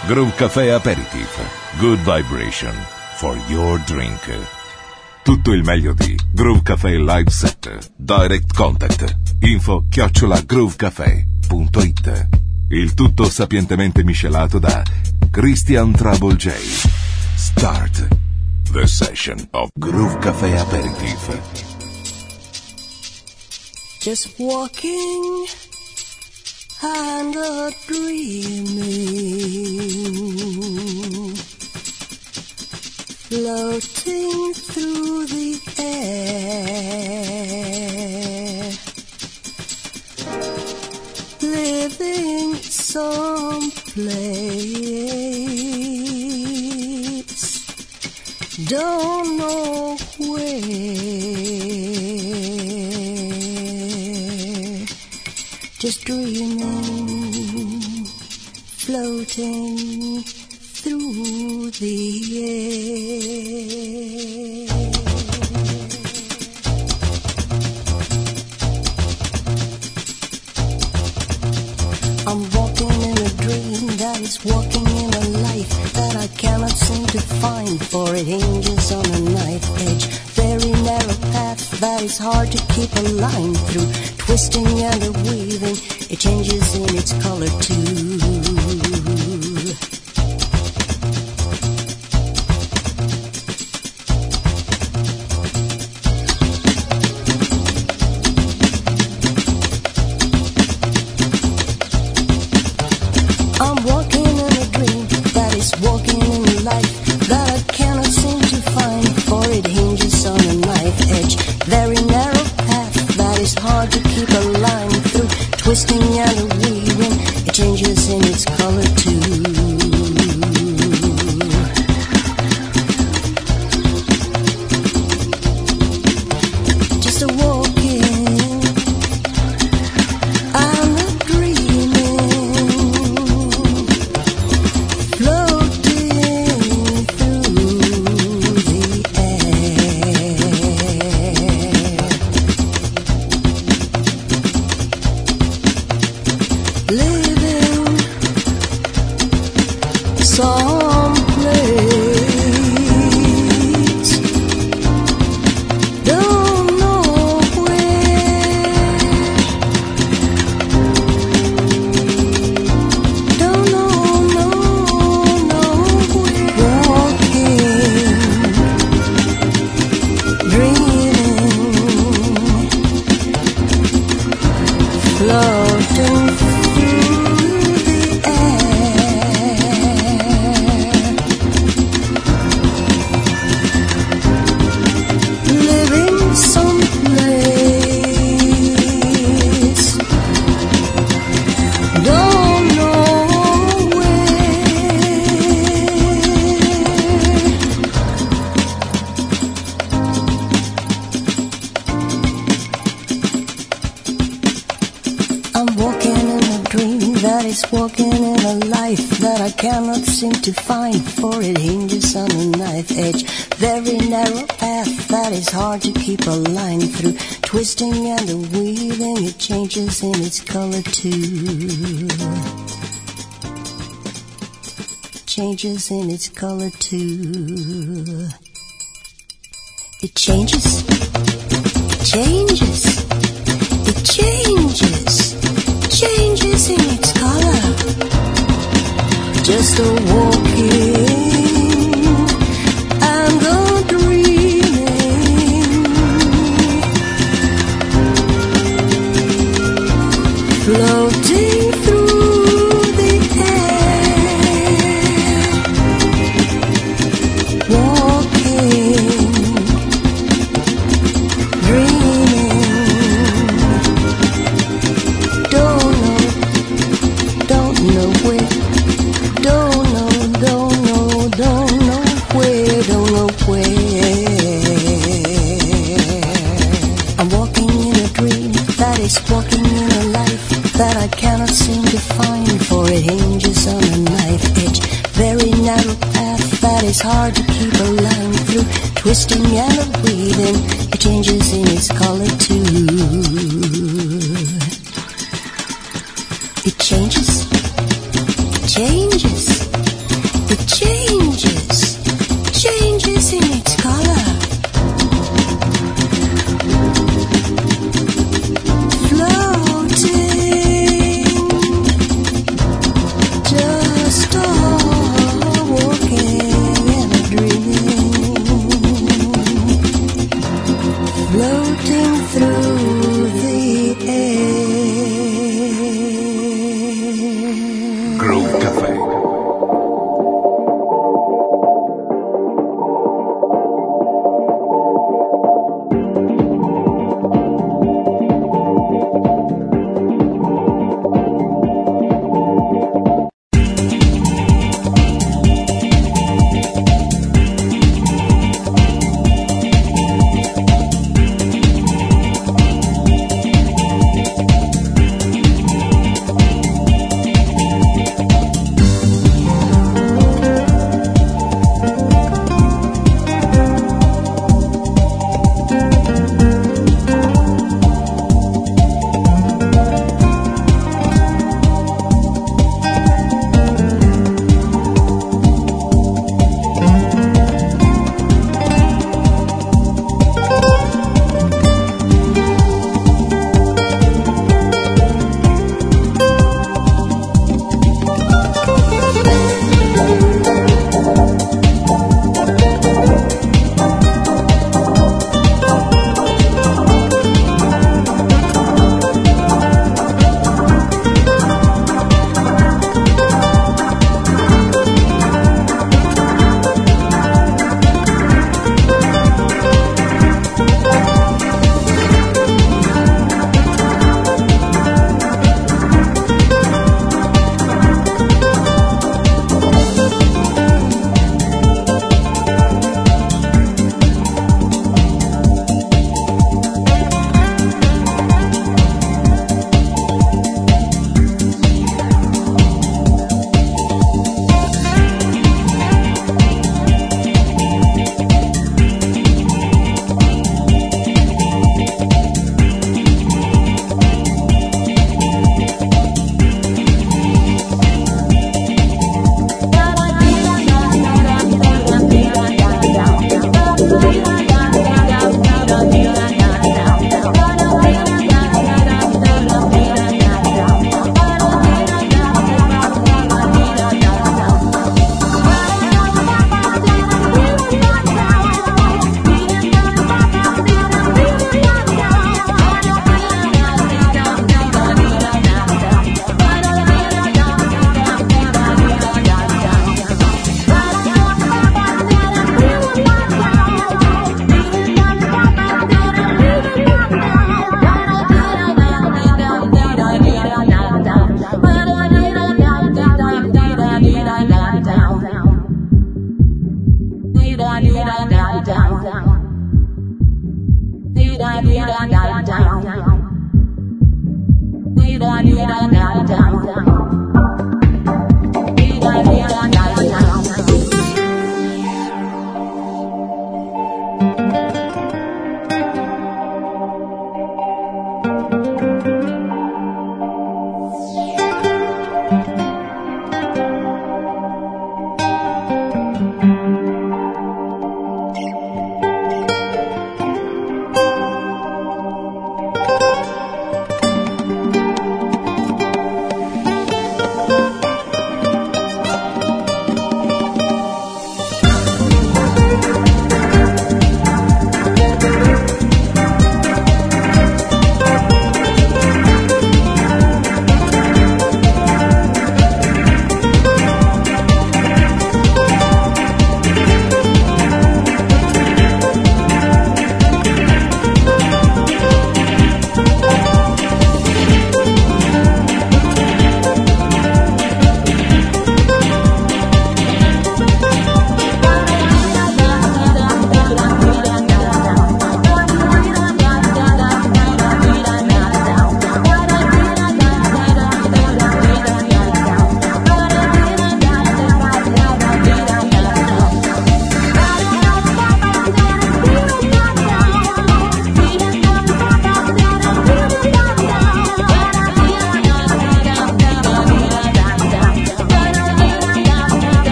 Groove Café Aperitif. Good vibration for your drink. Tutto il meglio di Groove Café Live Set. Direct Contact. info@groovecafé.it. Il tutto sapientemente miscelato da Christian Trouble J. Start the session of Groove Café Aperitif. Just walking and a dreaming, floating through the air, living someplace, don't know where, just dreaming, floating through the air. I'm walking in a dream that is walking in a life that I cannot seem to find, for it hinges on a knife edge, very narrow path that is hard to keep a line through, twisting and a weaving, it changes in its color too. I'm walking in a dream that is walking in a life that I cannot seem to find, for it hinges on a knife edge, very narrow path that is hard to keep a line through, twisting and a weaving, it changes in its color too. Just a walking and a dreaming, floating through the air, living someplace, don't know where, don't know where, walking, dreaming, floating through the air, living someplace, don't know where. I'm walking in a dream that is walking in a life that I cannot seem to find, for it hinges on a knife edge, very narrow path that is hard to keep a line through, twisting and a weaving, it changes in its color too. Changes in its color too. It changes, it changes, it changes, changes in its color. Just a walking and a dreaming, floating through the air, walking, dreaming, don't know where, don't know where, don't know where. I'm walking in a dream that is walking in a life that I cannot seem to find, for it hinges on a knife edge, very narrow path that is hard to keep a line through, twisting and a weaving, it changes in its color too. It changes, changes, It changes in its color. Floating, just walking in a dream. Floating through the air. Groove Café.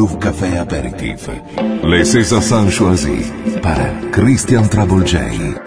Groove Café Aperitif. Les Césars choisis para Christian Trouble J.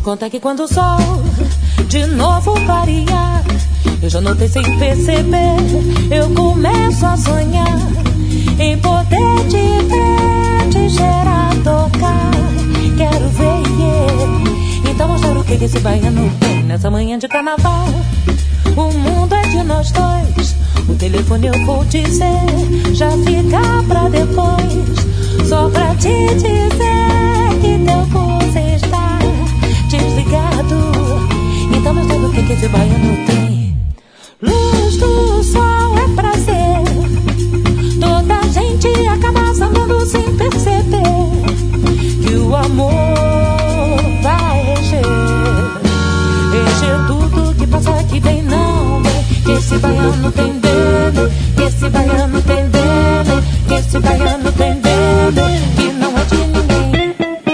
contar que quando o sol de novo clarear, eu já notei sem perceber, eu começo a sonhar em poder te ver, te cheirar, tocar. Quero ver, yeah. Então mostrar o que esse baiano tem nessa manhã de carnaval. O mundo é de nós dois, o telefone eu vou dizer, já fica pra depois, só pra te dizer que teu pulso está desligado. Então mostra o que esse baiano tem. Luz do sol é prazer, toda a gente acaba samando sem perceber que o amor vai encher tudo que passa que vem não vem, que esse baiano tem dele, que esse baiano tem dele, que esse baiano tem dele, que não é de ninguém.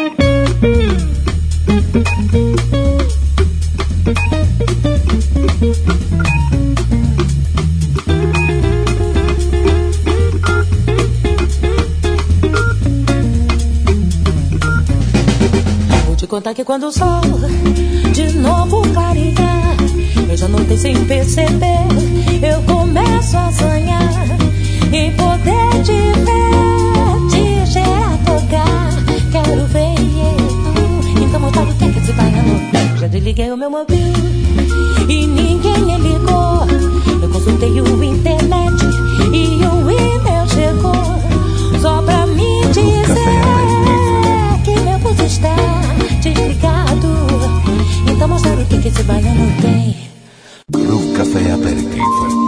Contar que quando o sol de novo clarear, eu já notei sem perceber, eu começo a sonhar em poder te ver, te cheirar, tocar. Quero ver, então montar o que esse baiano tem. Já desliguei o meu mobil e ninguém me ligou. Eu consultei o internet e o e-mail chegou só pra me dizer que meu pulso está desligado. Então mostrar o que esse baiano tem. Groove Café Aperitivo.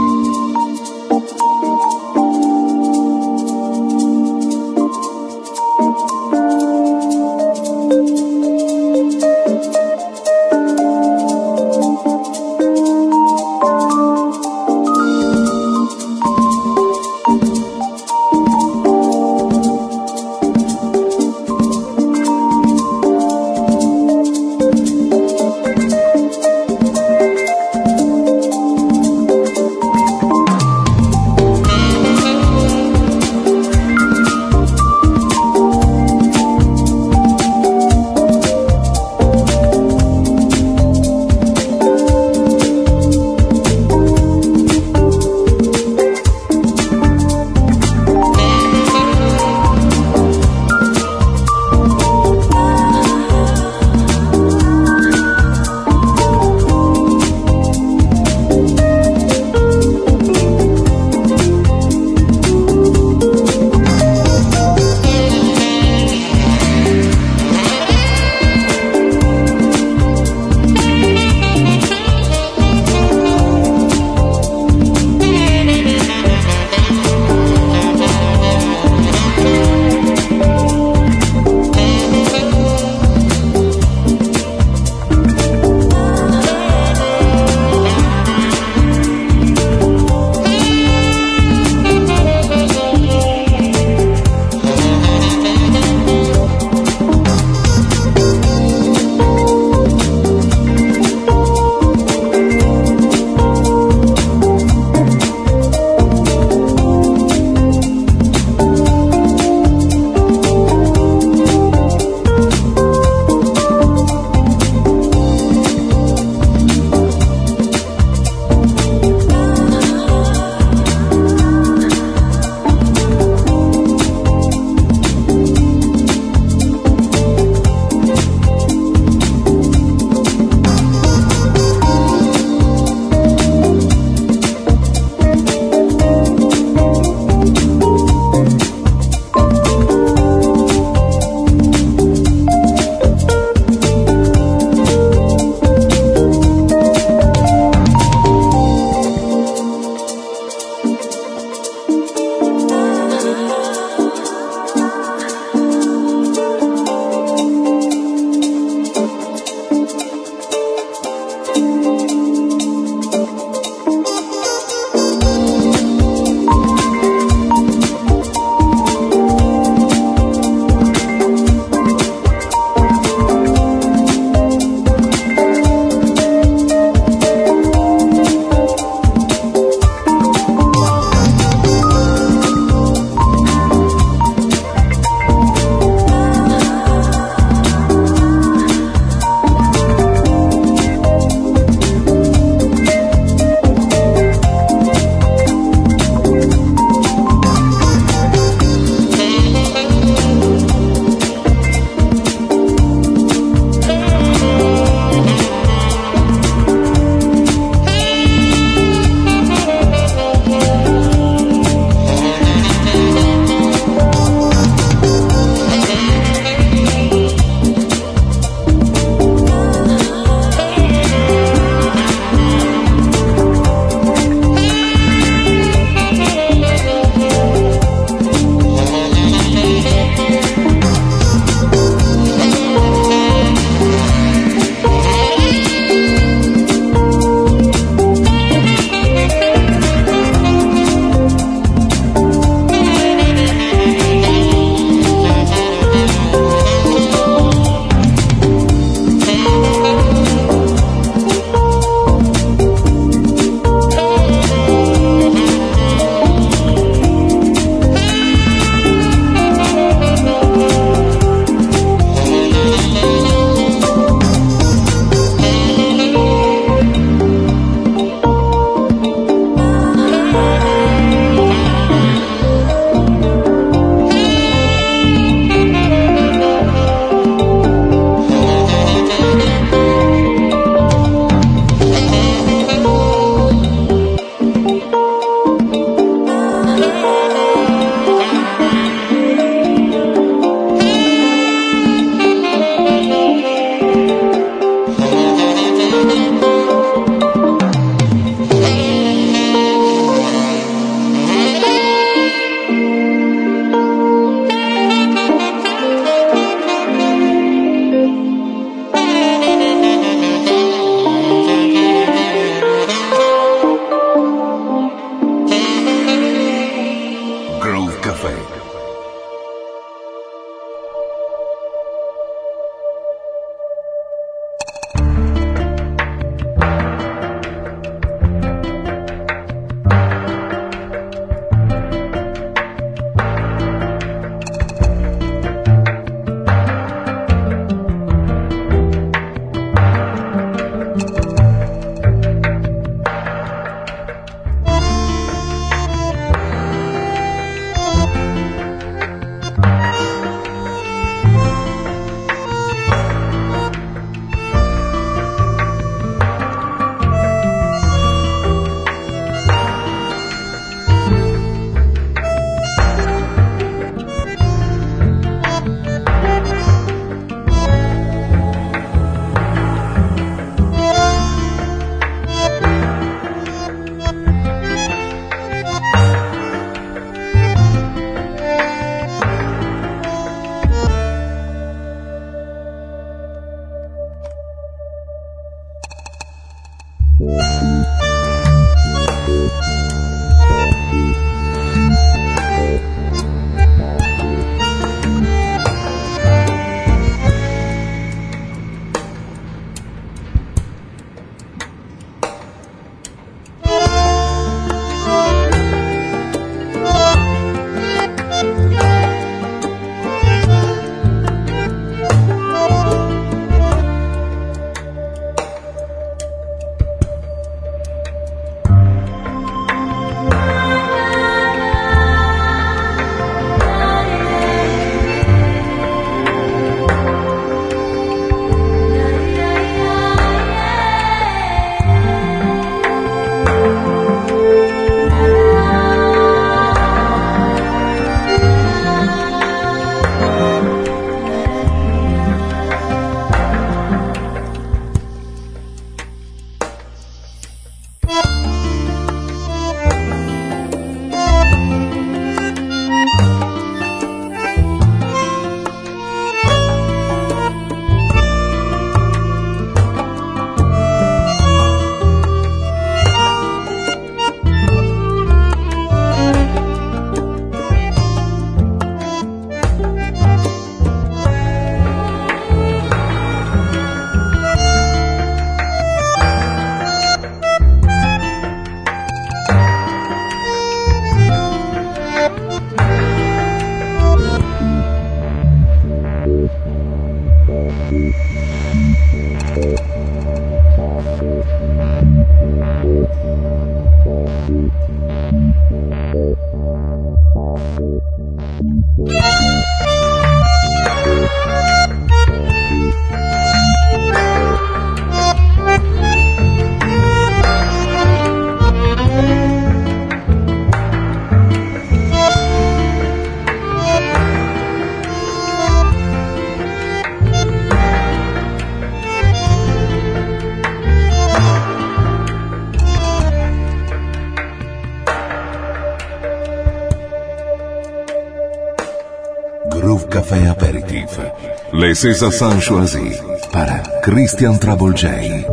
Groove Café Aperitif. Les César choisis para Christian Trouble J.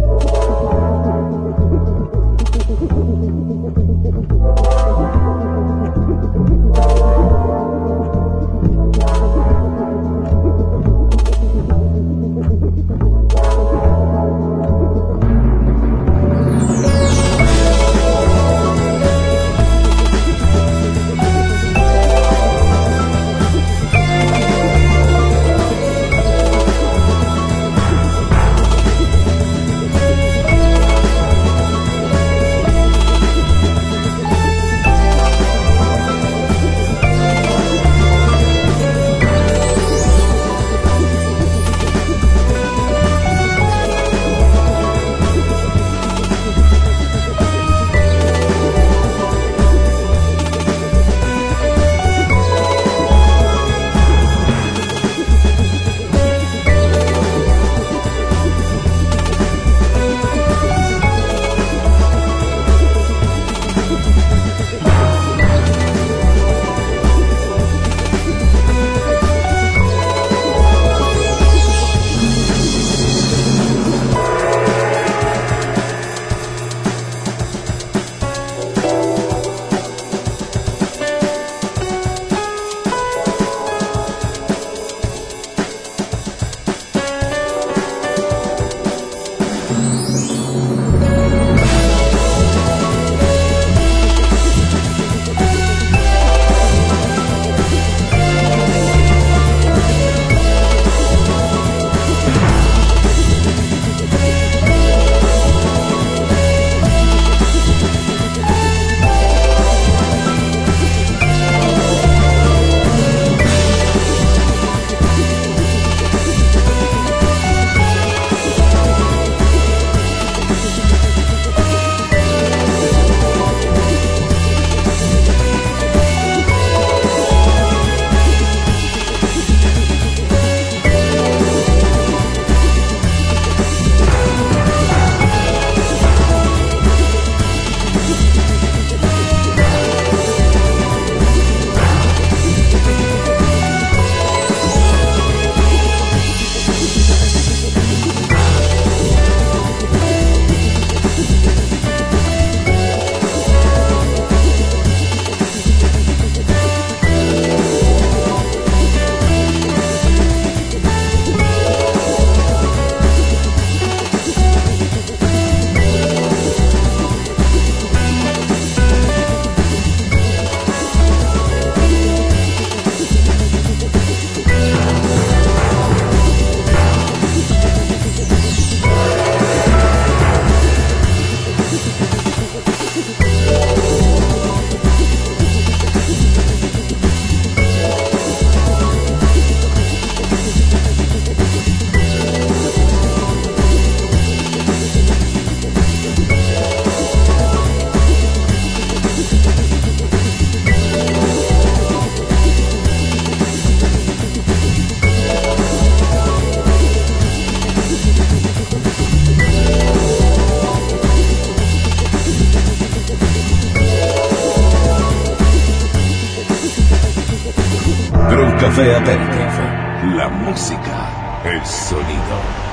Café Aperitif. La música, el sonido.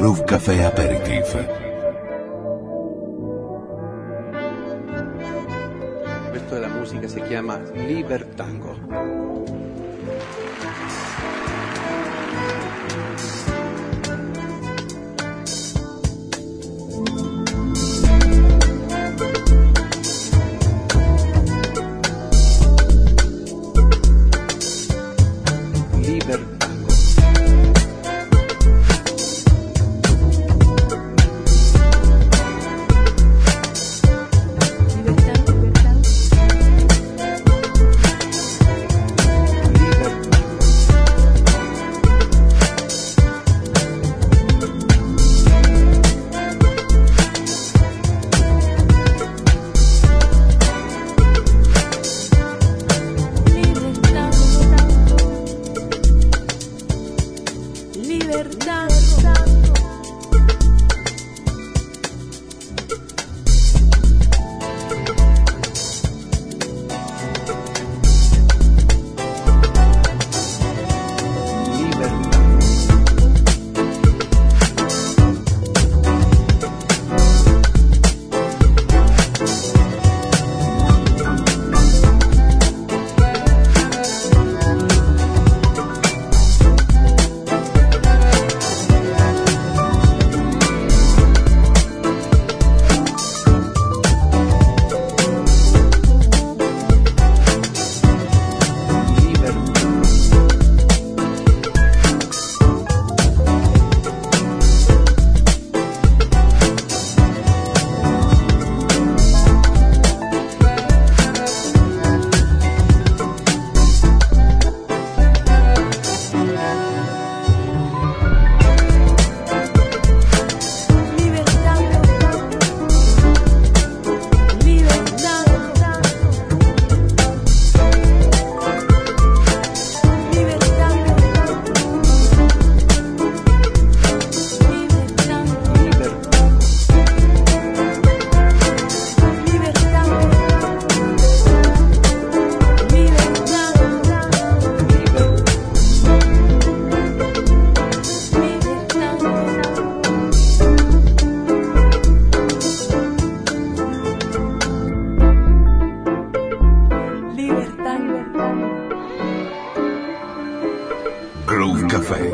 Groove Café Aperitif. Questa è la musica, si chiama Libertango. Groove Café.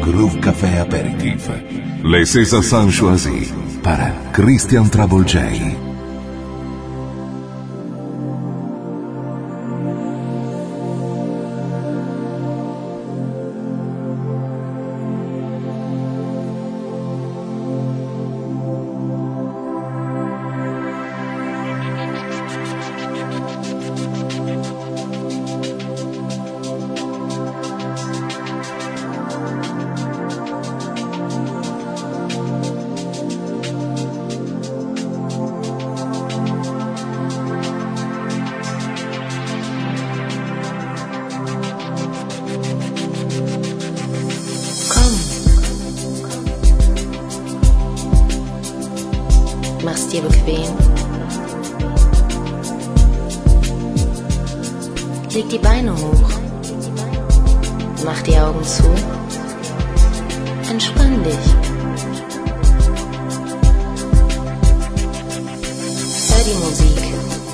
Groove Café Aperitif. Les César sont choisis par Christian Trouble J. Mach's dir bequem. Leg die Beine hoch. Mach die Augen zu. Entspann dich. Hör die Musik.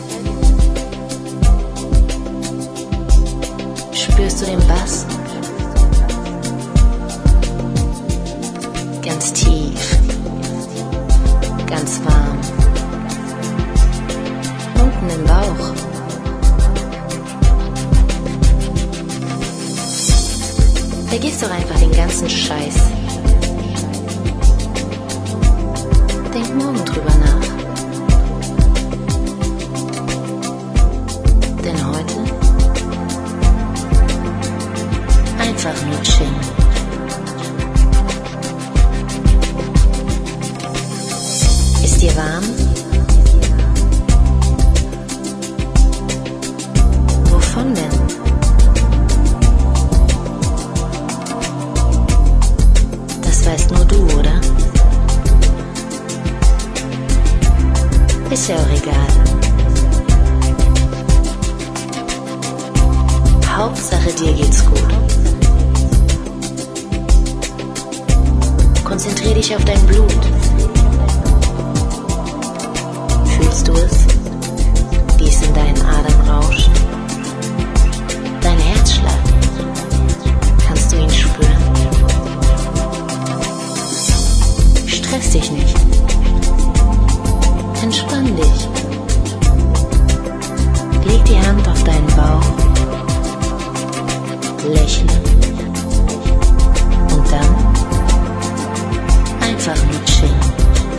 Spürst du den Bass? Ganz tief. Ganz warm. Unten im Bauch. Vergiss doch einfach den ganzen Scheiß. Denk morgen drüber nach. Denn heute einfach nur chillen. Ist dir warm? Wovon denn? Das weißt nur du, oder? Ist ja auch egal. Hauptsache dir geht's gut. Konzentrier dich auf dein Blut. Fühlst du es, wie es in deinen Adern rauscht? Dein Herzschlag, kannst du ihn spüren? Stress dich nicht. Entspann dich. Leg die Hand auf deinen Bauch. Lächle. Und dann einfach nur chillen.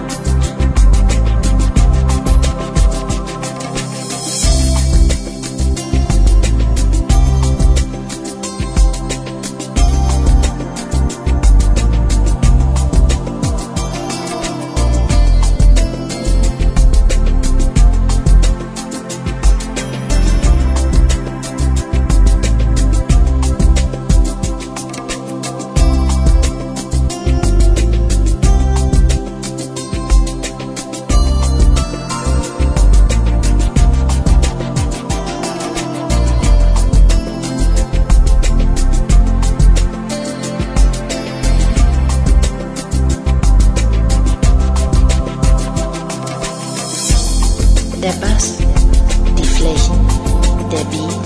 Der Bass, die Flächen, der Beat,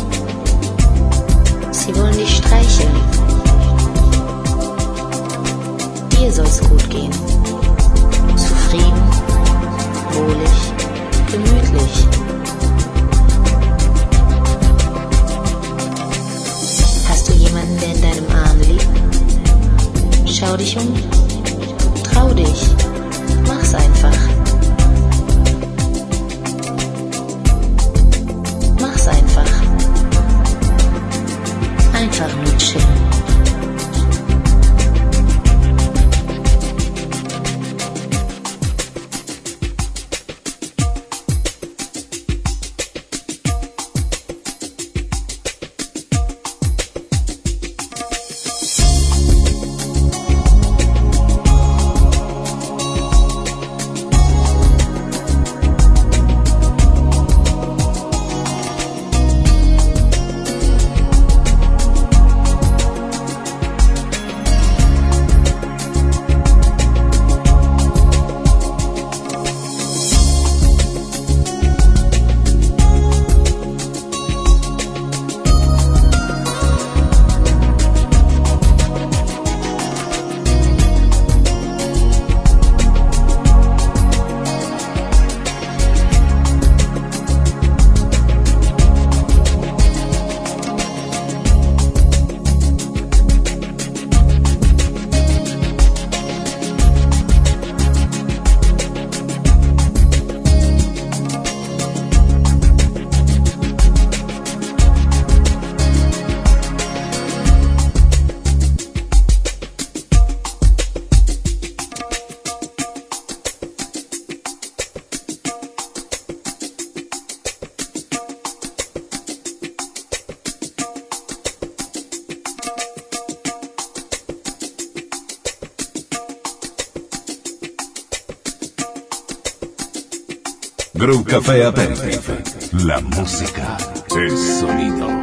sie wollen dich streicheln. Dir soll's gut gehen. Zufrieden, wohlig, gemütlich. Hast du jemanden, der in deinem Arm liegt? Schau dich um, trau dich, mach's einfach. Einfach. Einfach nur chillen. Groove Café Aperitif. La música es sonido.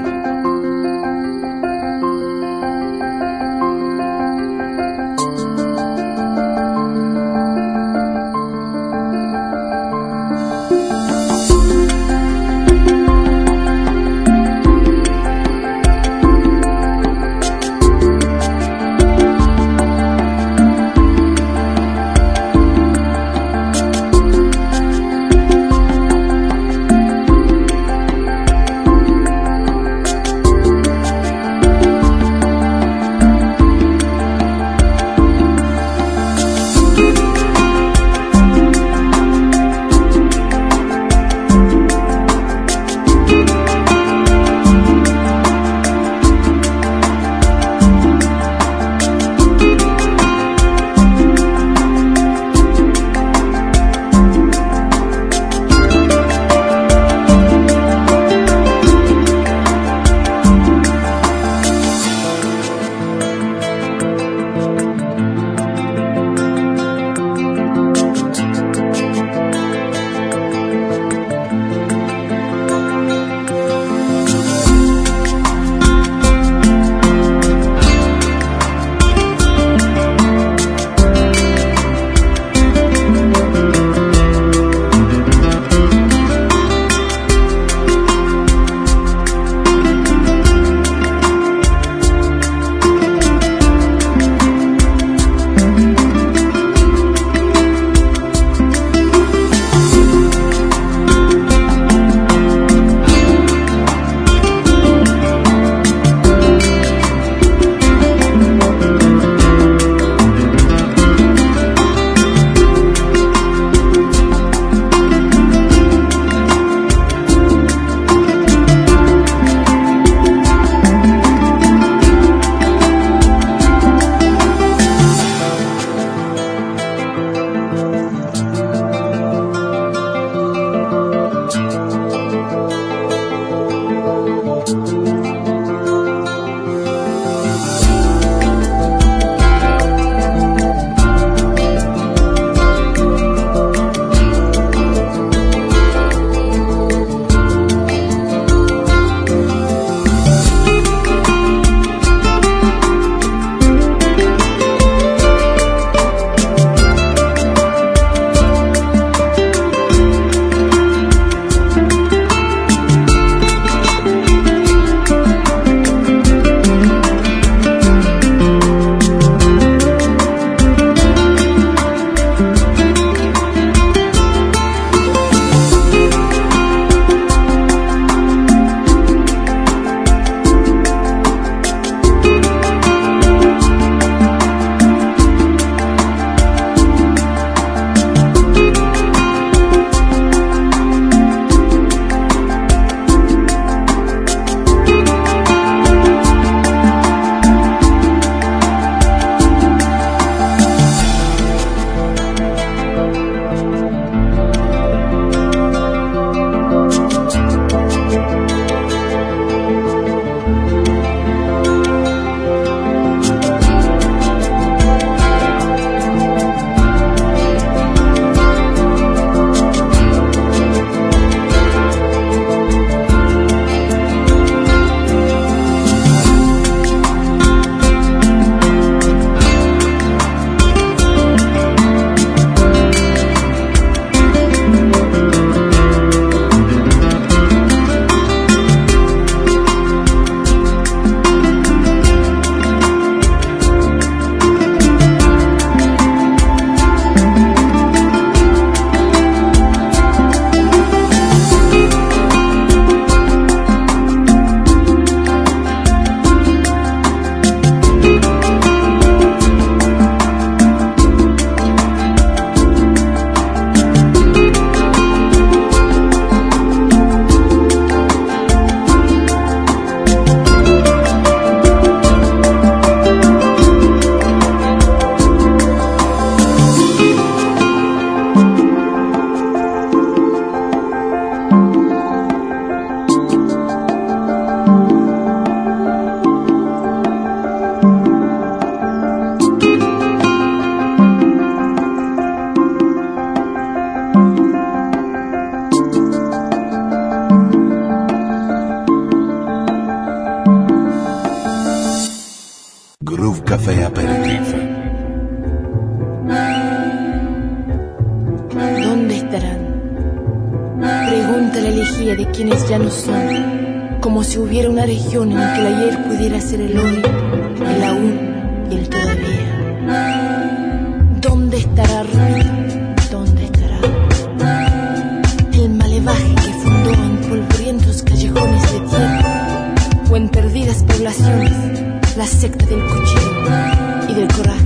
elegía de quienes ya no son, como si hubiera una región en la que el ayer pudiera ser el hoy, el aún y el todavía. ¿Dónde estará Rita? ¿Dónde estará el malevaje que fundó en polvorientos callejones de tierra o en perdidas poblaciones la secta del cuchillo y del coraje?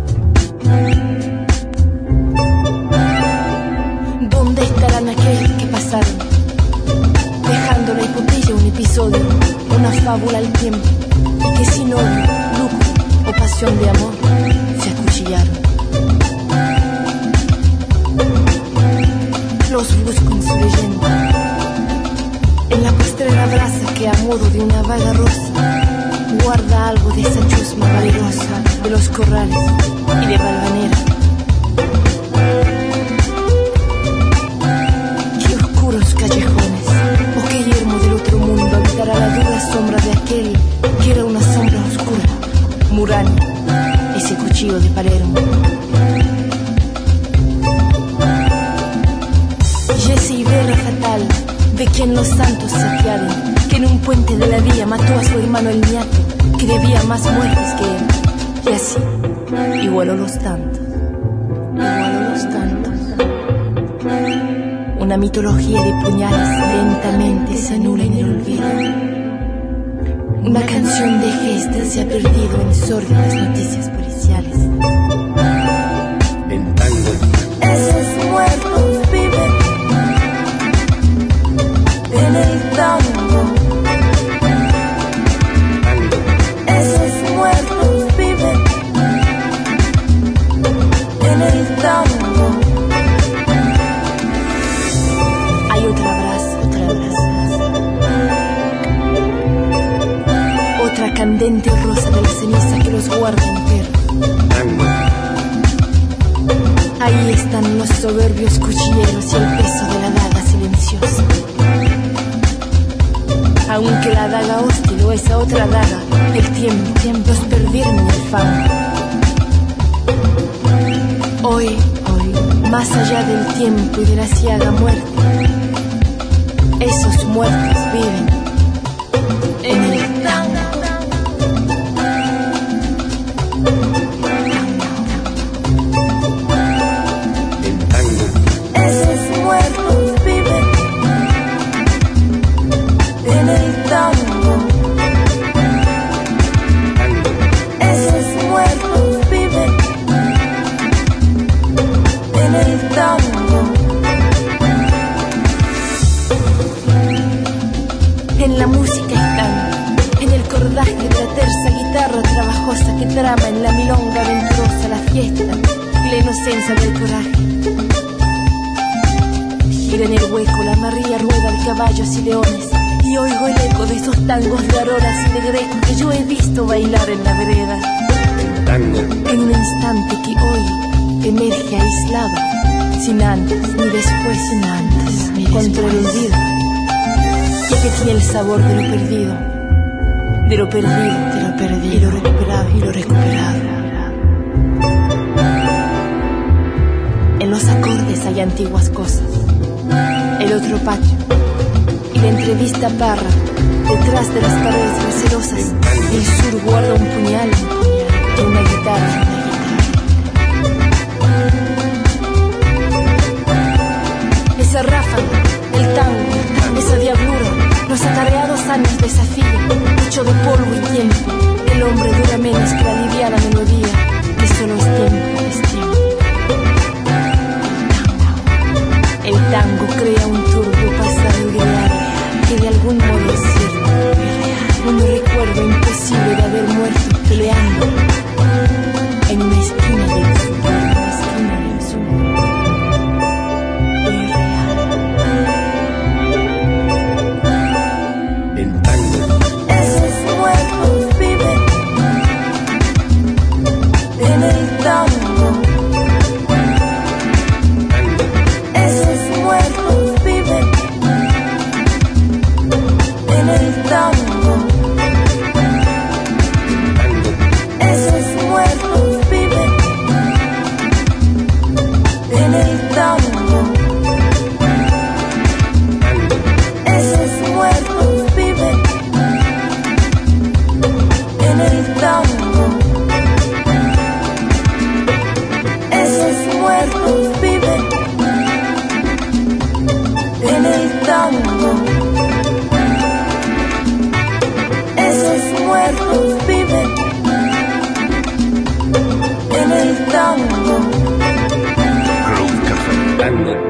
¿Dónde estarán aquellos que pasaron, dejando la hipoteca un episodio, una fábula al tiempo, y que sin odio, lucro o pasión de amor se acuchillaron? Los busco en su leyenda, en la postrera brasa que a modo de una vaga rosa guarda algo de esa chusma valerosa de los corrales y de Valvanera. Qué oscuros callejones, o qué yermo del otro mundo habitará la dura sombra de aquel que era una sombra oscura, Murano, ese cuchillo de Palermo. Y ese Iberra fatal, de quien los santos se apiaden, que en un puente de la vía mató a su hermano el niato, que debía más muertes que él, y así igualó los tantos, Una mitología de puñales lentamente se anula en el olvido. Una canción de gestas se ha perdido en sórdidas noticias policiales. El tango. Esos muertos viven en el tango. Esos muertos viven en el tango. Hay otra brasa, otra candente rosa de la ceniza que los guarda enteros. Ahí están los soberbios cuchilleros y el peso de la daga silenciosa. Aunque la daga hostil o esa otra daga, el tiempo los perdieron en el fango. Hoy, más allá del tiempo y de la ciaga muerte, esos muertos viven en el tango. Esos muertos viven en el tango. Esos muertos viven en el tango. En la música están, en el cordaje de la terza guitarra trabajosa que trama en la milonga aventurosa la fiesta y la inocencia del coraje. Gira en el hueco la María rueda de caballos y leones, y oigo el eco de esos tangos de auroras y de greco que yo he visto bailar en la vereda. En un instante que hoy emerge aislado, sin antes ni después, contra el olvido, ya que tiene el sabor de lo perdido, y lo recuperado. En los acordes hay antiguas cosas, el otro patio y la entrevista parra. Detrás de las paredes recelosas, el sur guarda un puñal y una guitarra. Esa ráfaga, el tango, esa diablura, los atareados años desafío, hecho de polvo y tiempo. El hombre dura menos que la liviana melodía, que solo es tiempo. El tango crea un turbio pasado ideal que de algún modo es cierto, un recuerdo imposible de haber muerto peleando e tango. Groove Café Tango.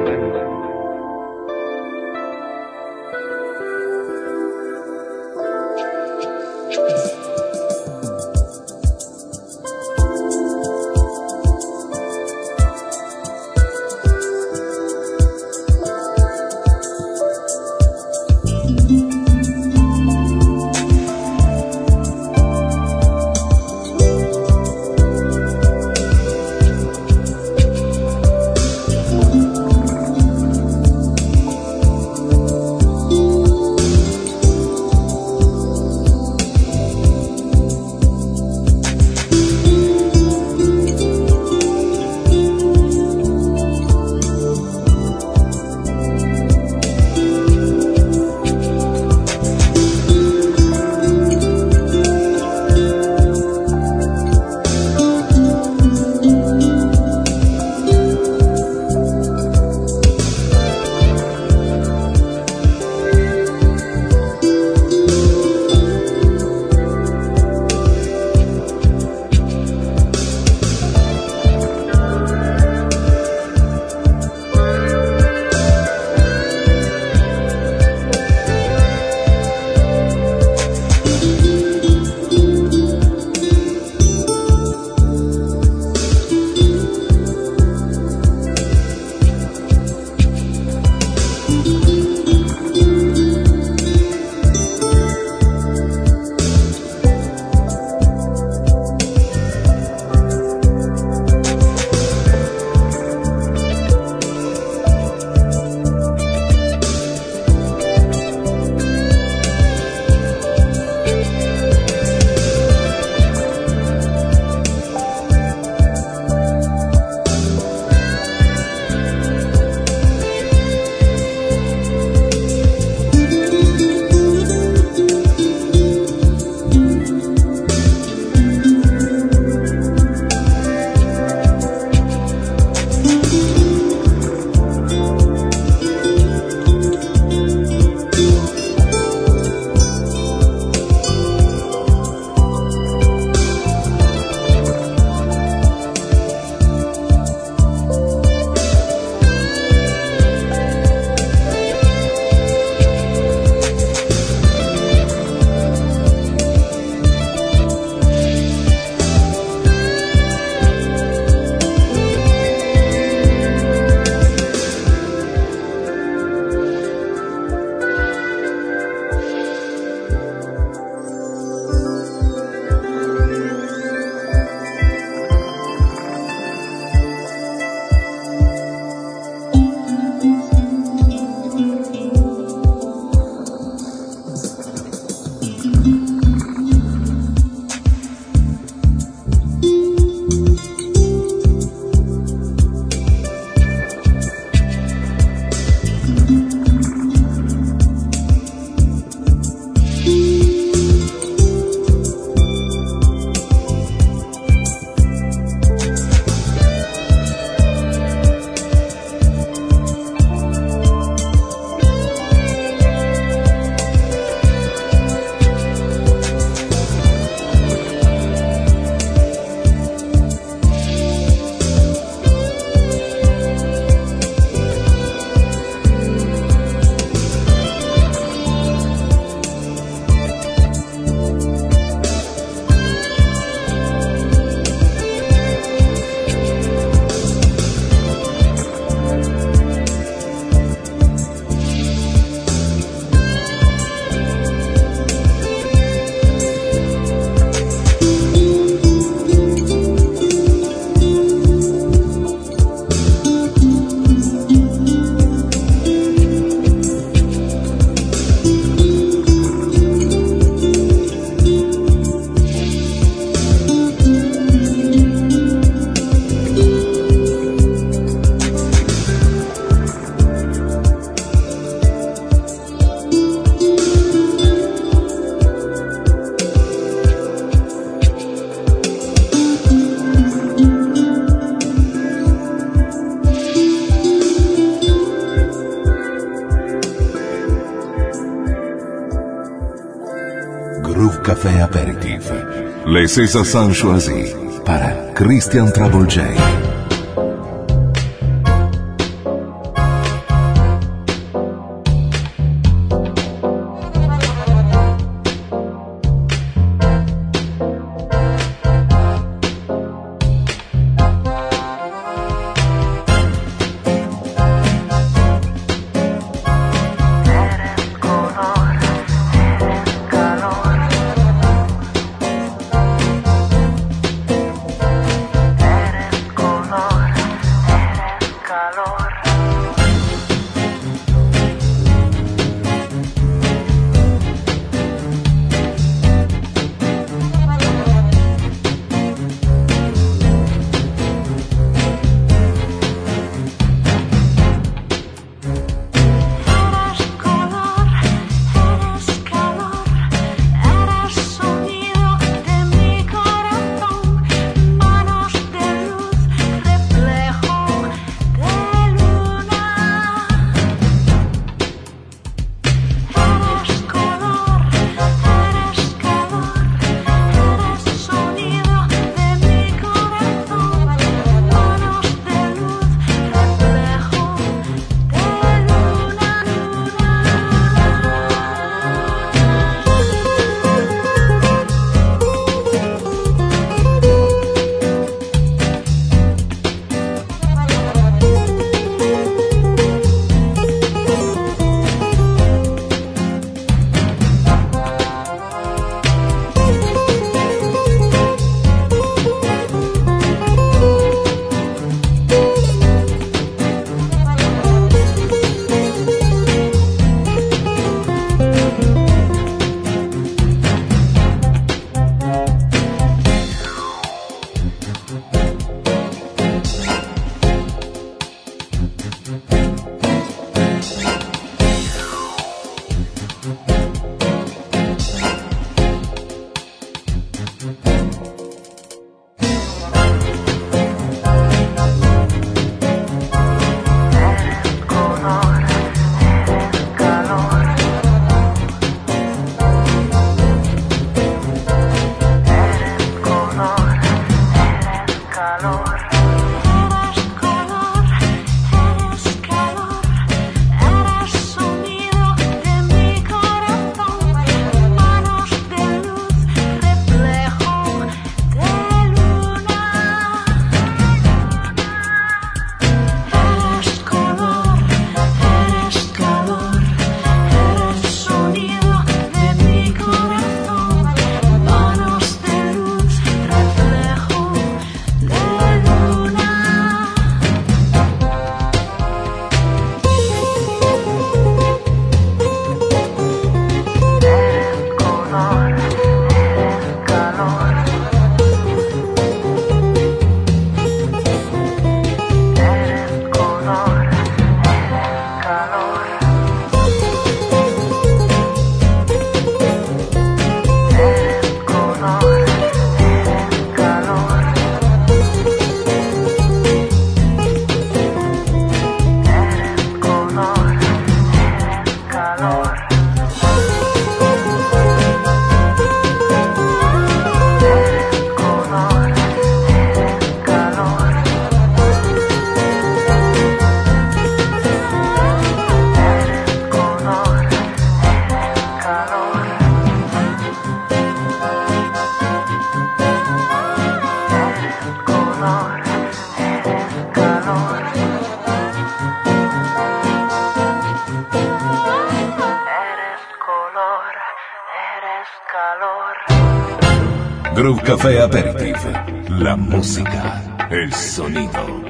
Groove Café Aperitif. Les César Choisi para Christian Trouble J. Groove Café Aperitif, la música, el sonido.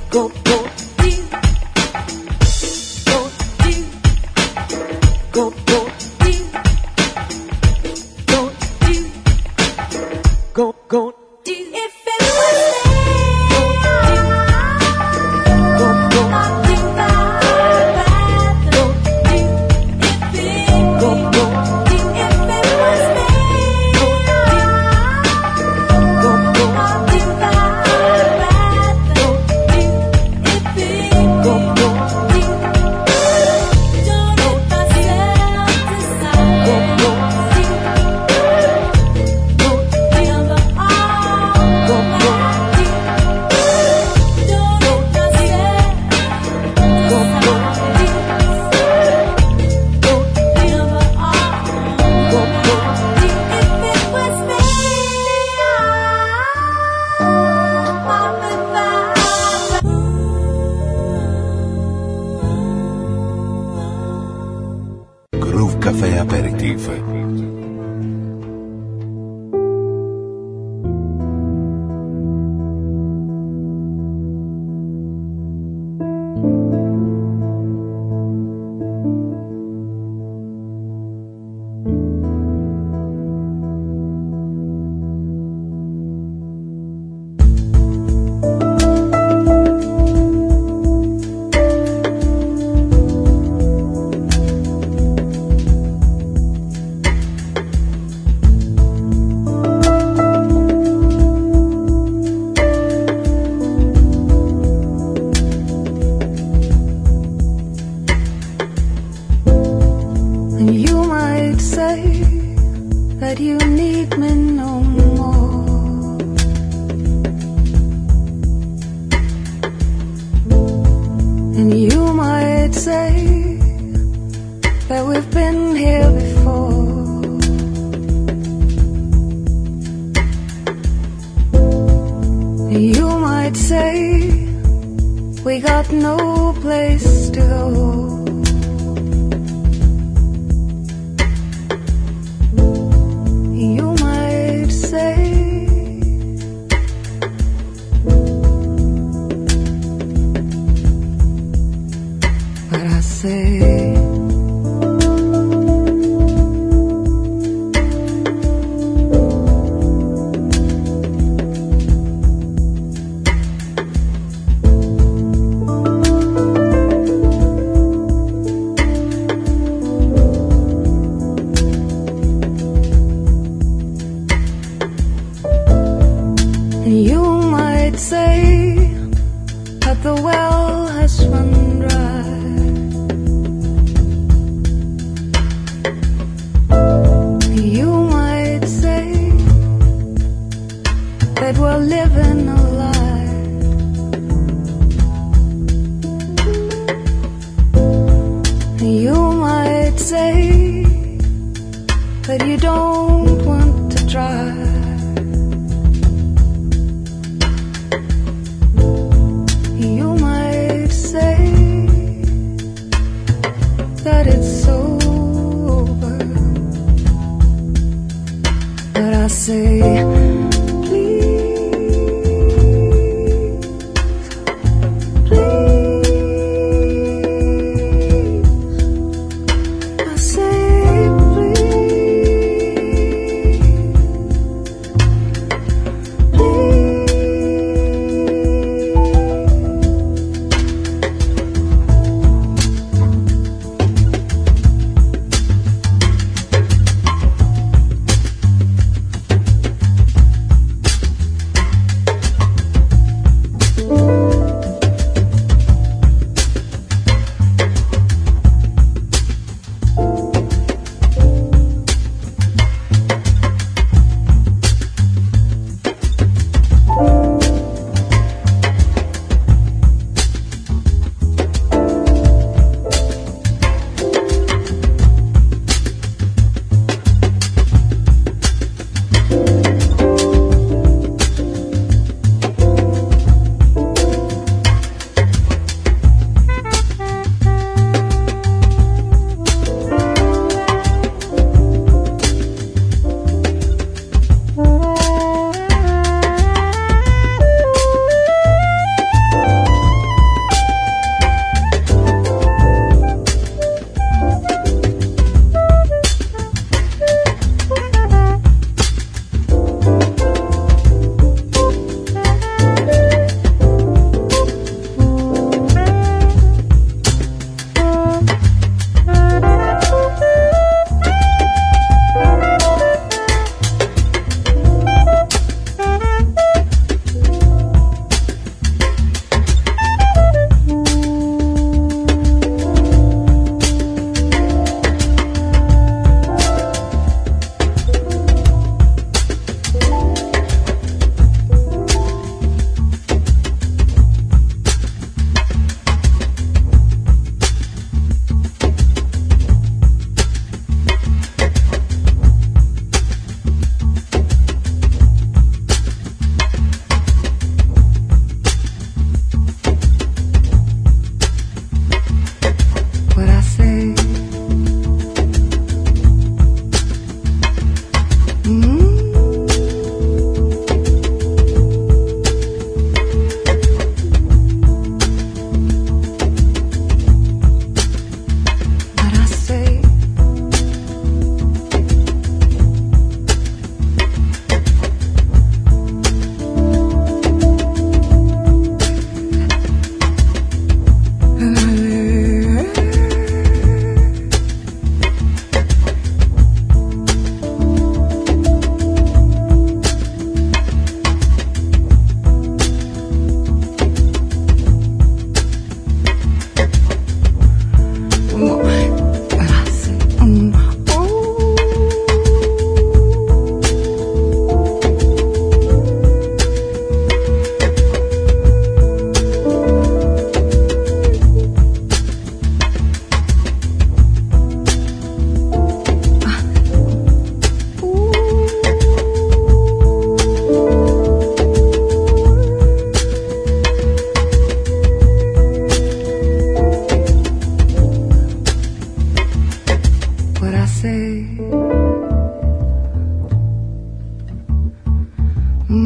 Caffè Aperitif.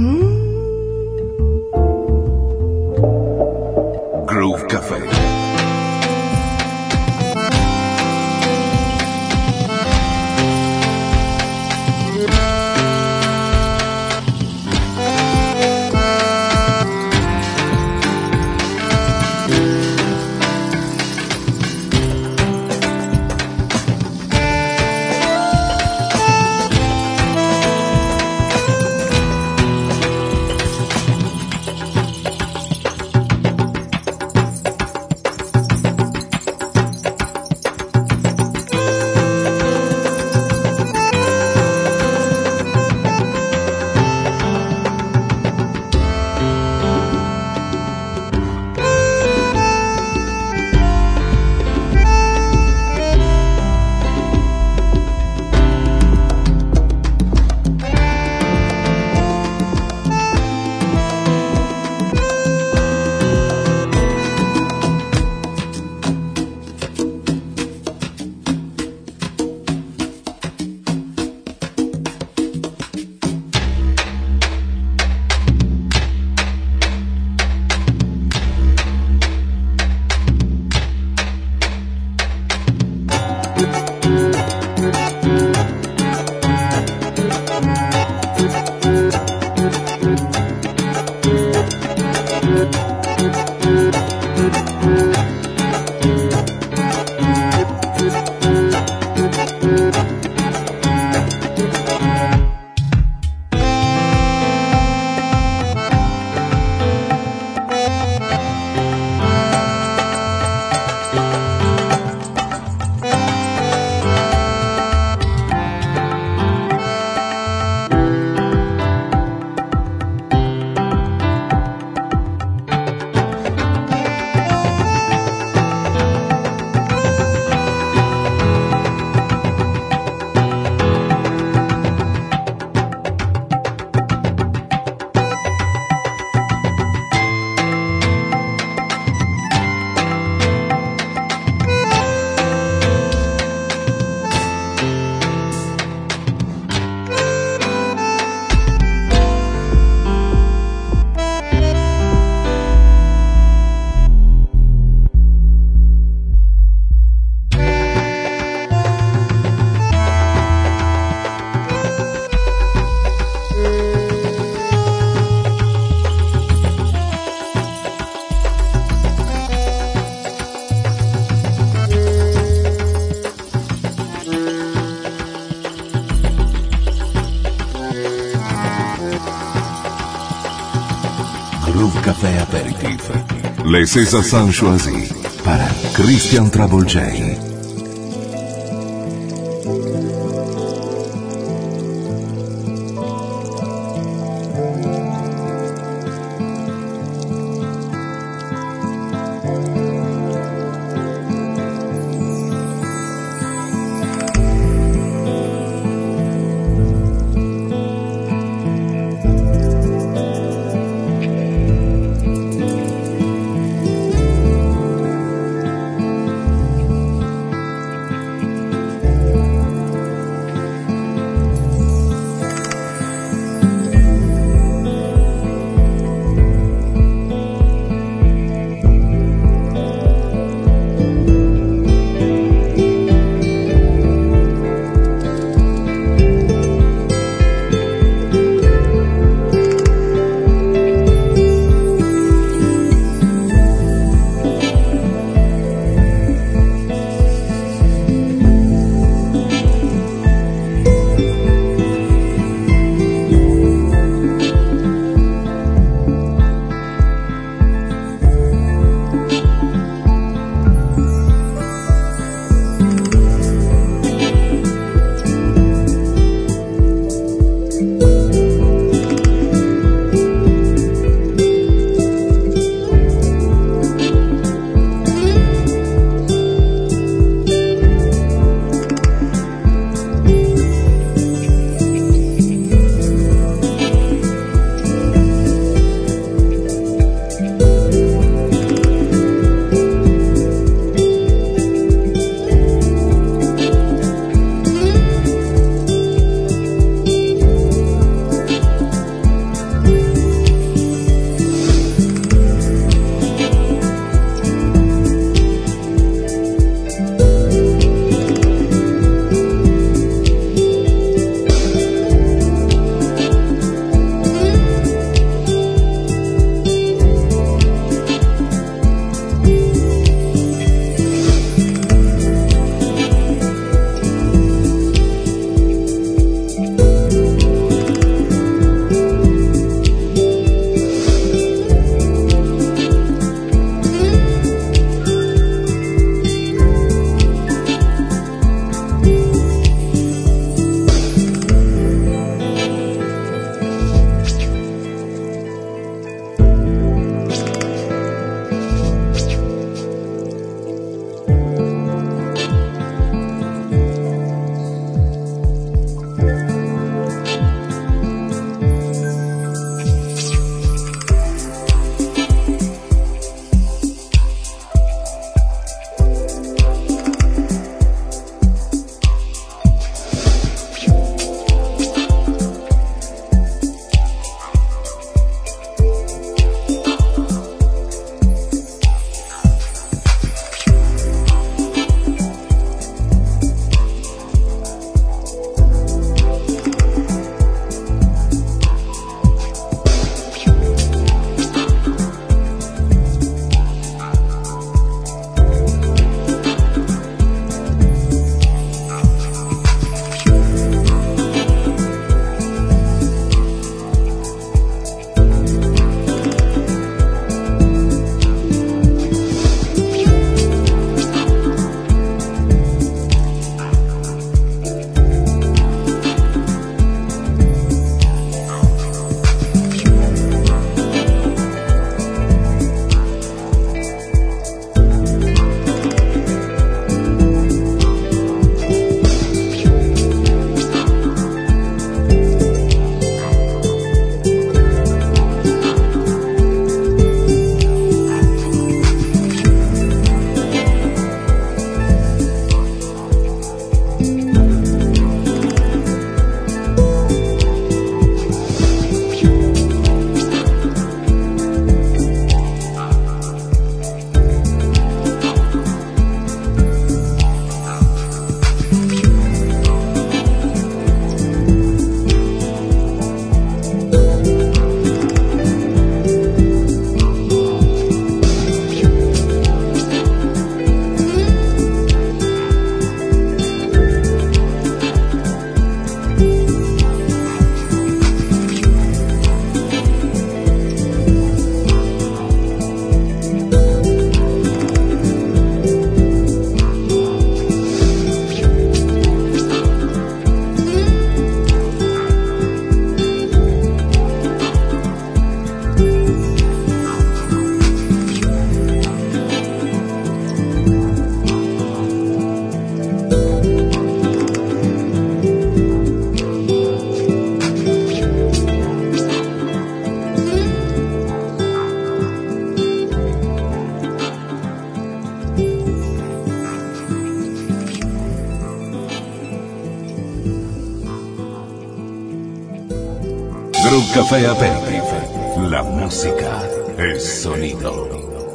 Groove Café. Groove Café Aperitif. Les Césars choisis para Christian Travolgei. Groove Café Aperitif. La música es sonido.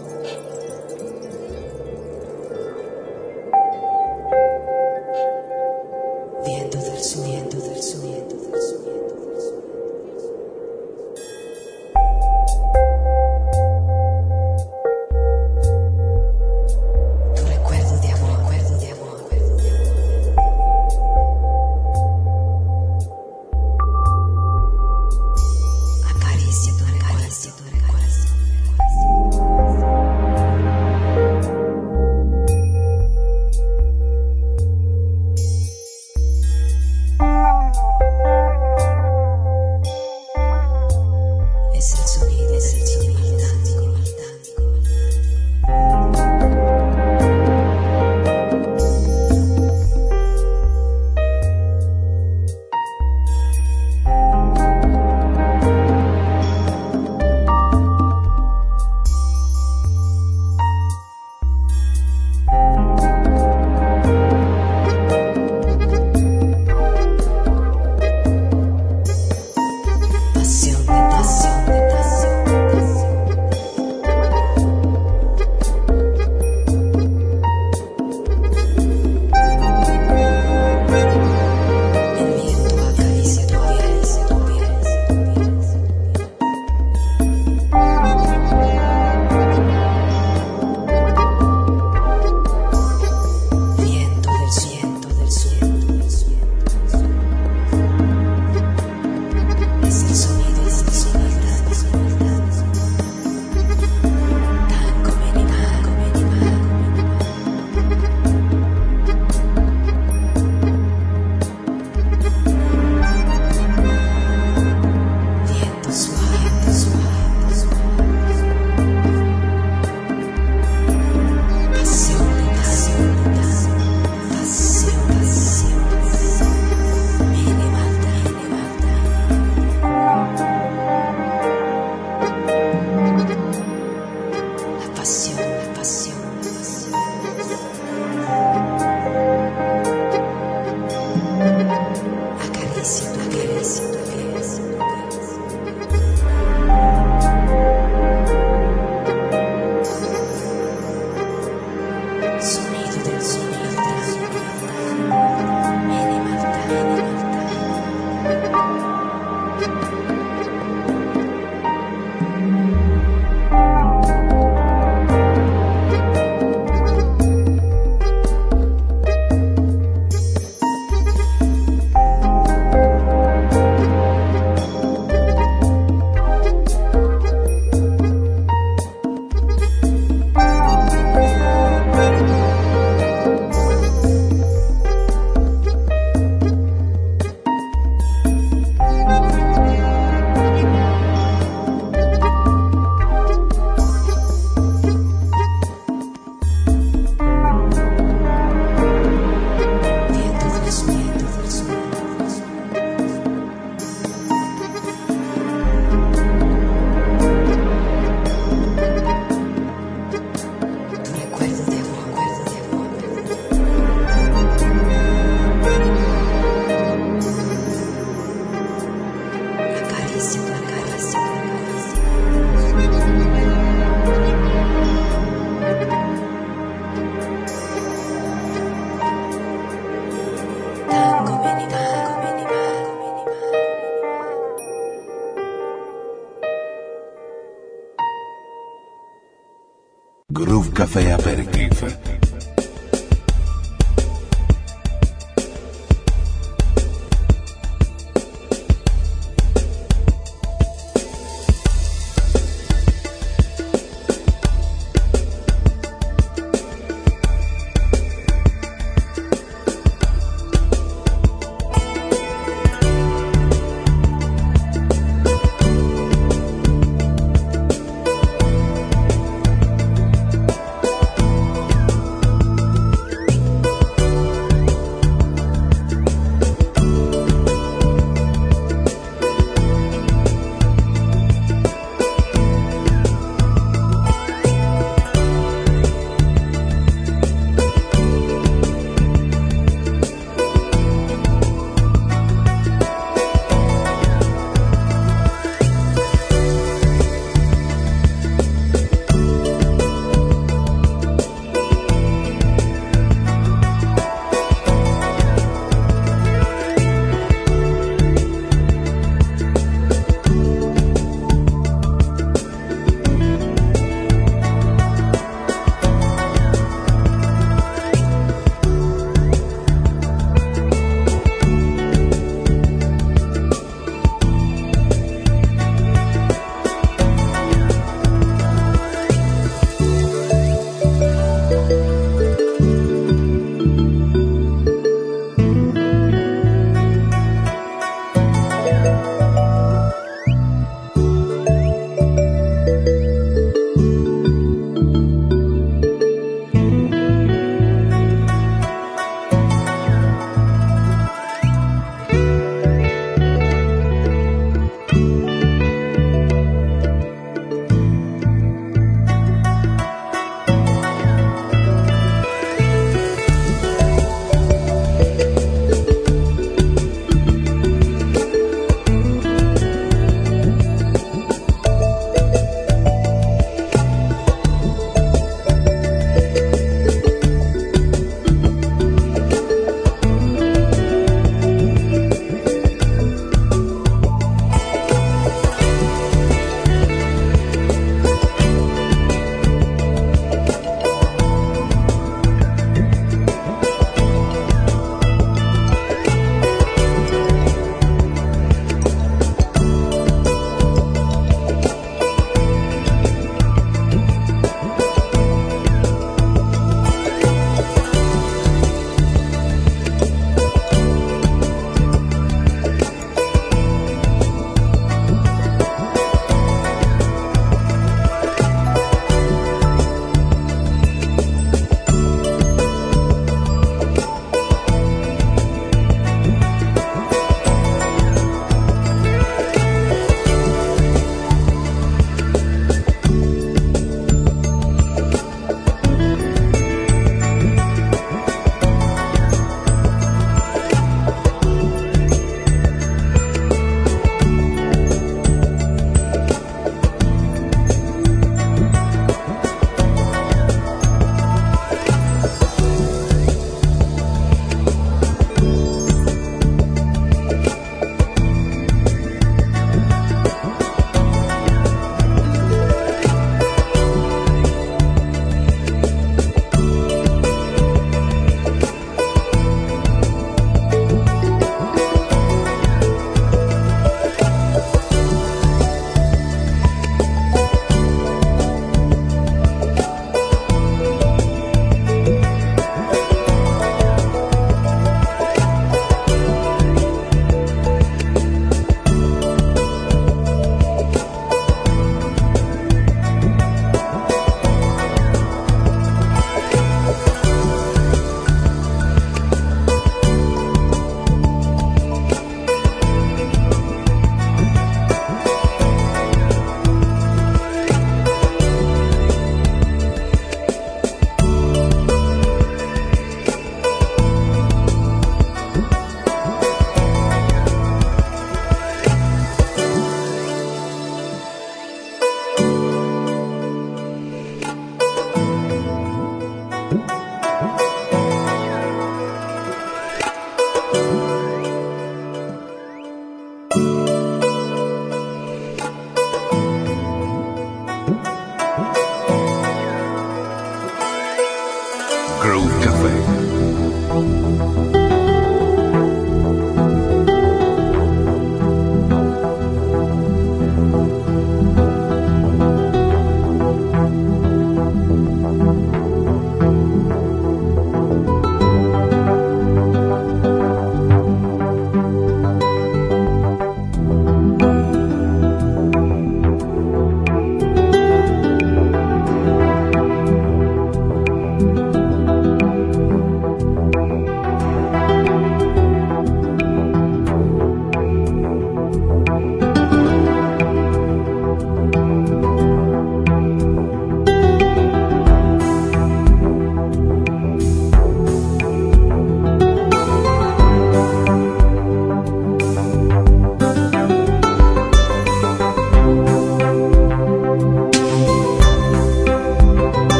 Groove Café Aperitif.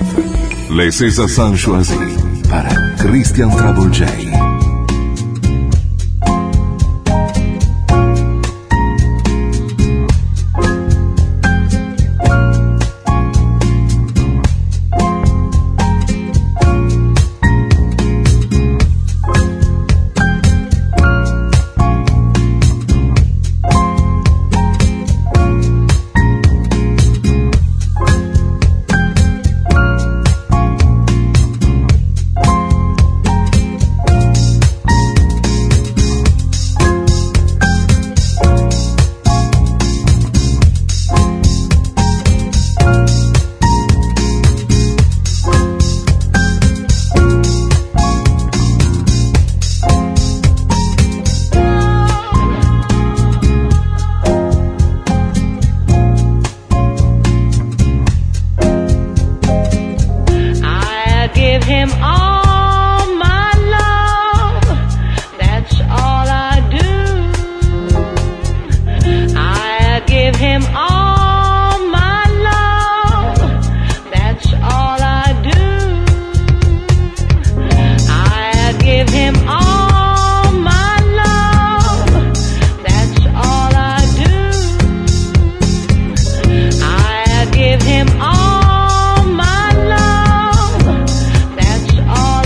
Live. Les César San Choisi para Christian Trouble J. All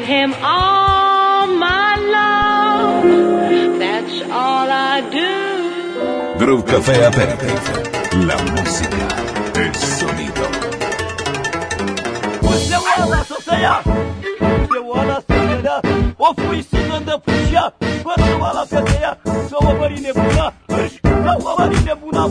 him all my love. That's all I do. Groove Café Aperitif. La música es sonido. Você wala sosaya. Você wala sosaya. O fui sinanda puxa. Você wala sosaya. So wabari ne buna. So wabari ne buna.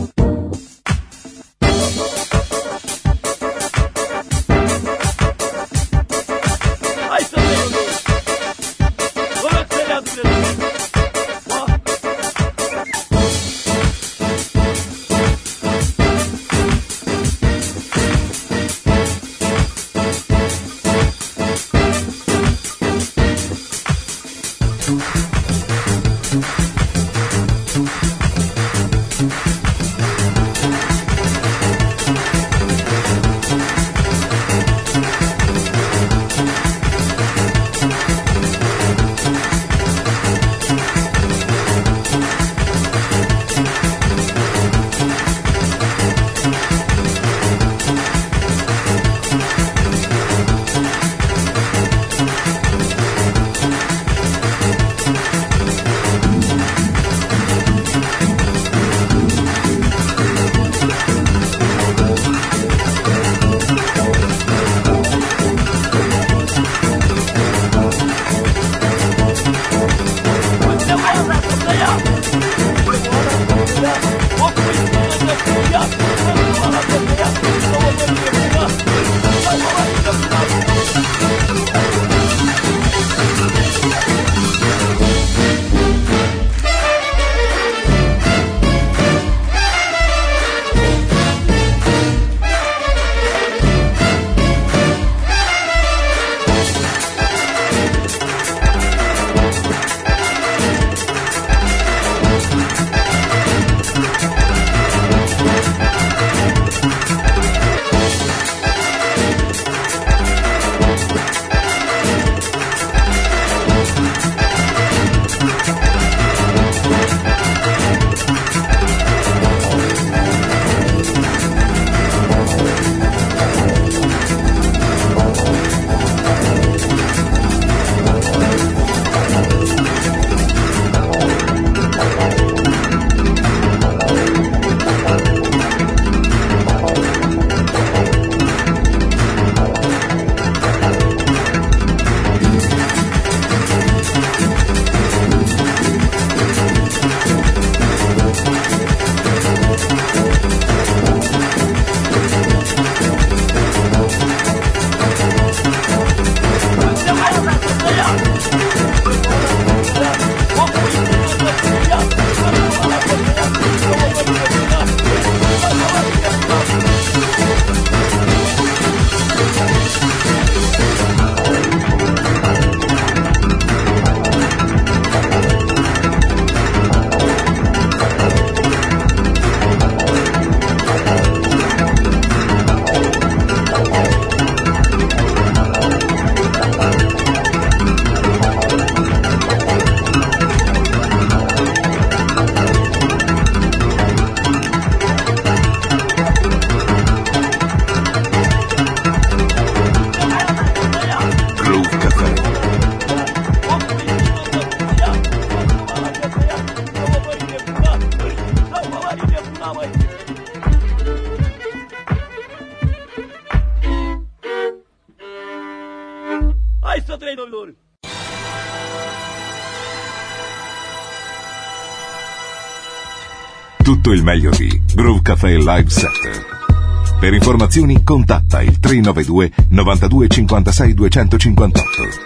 Tutto il meglio di Groove Café Live Set. Per informazioni contatta il 392 92 56 258.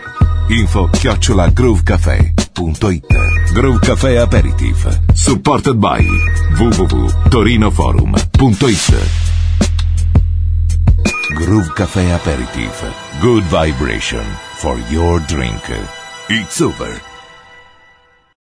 info@groovecafé.it. Groove Café Aperitif. Supported by www.torinoforum.it. Groove Café Aperitif. Good vibration for your drink. It's over.